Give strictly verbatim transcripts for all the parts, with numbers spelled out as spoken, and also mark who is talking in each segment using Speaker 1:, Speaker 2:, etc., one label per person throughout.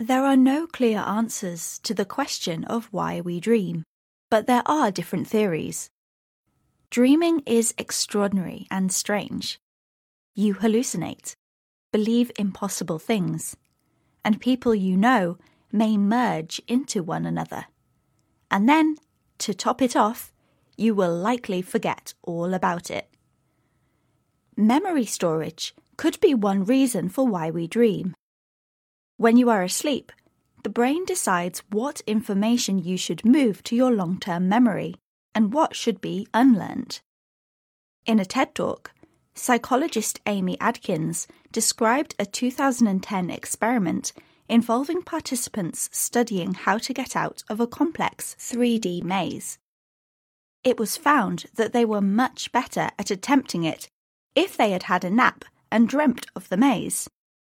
Speaker 1: There are no clear answers to the question of why we dream, but there are different theories. Dreaming is extraordinary and strange. You hallucinate, believe impossible things, and people you know may merge into one another. And then, to top it off, you will likely forget all about it. Memory storage could be one reason for why we dream. When you are asleep, the brain decides what information you should move to your long-term memory and what should be unlearned. In a TED Talk, psychologist Amy Adkins described a two thousand ten experiment involving participants studying how to get out of a complex three D maze. It was found that they were much better at attempting it if they had had a nap and dreamt of the maze.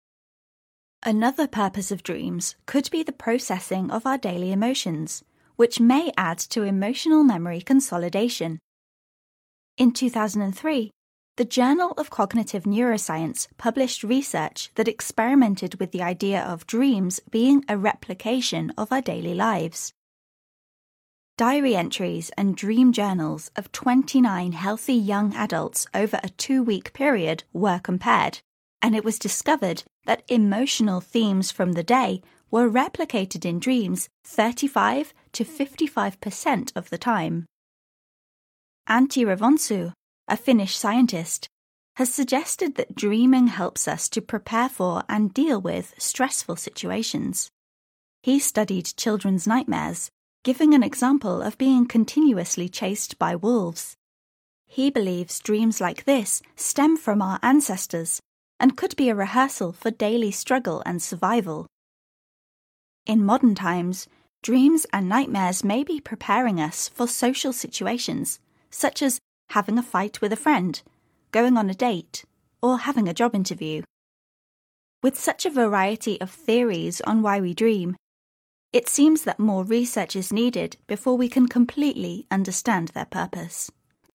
Speaker 1: Another purpose of dreams could be the processing of our daily emotions, which may add to emotional memory consolidation. In two thousand three, the Journal of Cognitive Neuroscience published research that experimented with the idea of dreams being a replication of our daily lives. Diary entries and dream journals of twenty-nine healthy young adults over a two-week period were compared, and it was discovered that emotional themes from the day were replicated in dreams thirty-five to fifty-five percent of the time. Antti Revonsu, a Finnish scientist, has suggested that dreaming helps us to prepare for and deal with stressful situations. He studied children's nightmares, giving an example of being continuously chased by wolves. He believes dreams like this stem from our ancestors and could be a rehearsal for daily struggle and survival. In modern times, dreams and nightmares may be preparing us for social situations, such as having a fight with a friend, going on a date, or having a job interview. With such a variety of theories on why we dream, it seems that more research is needed before we can completely understand their purpose.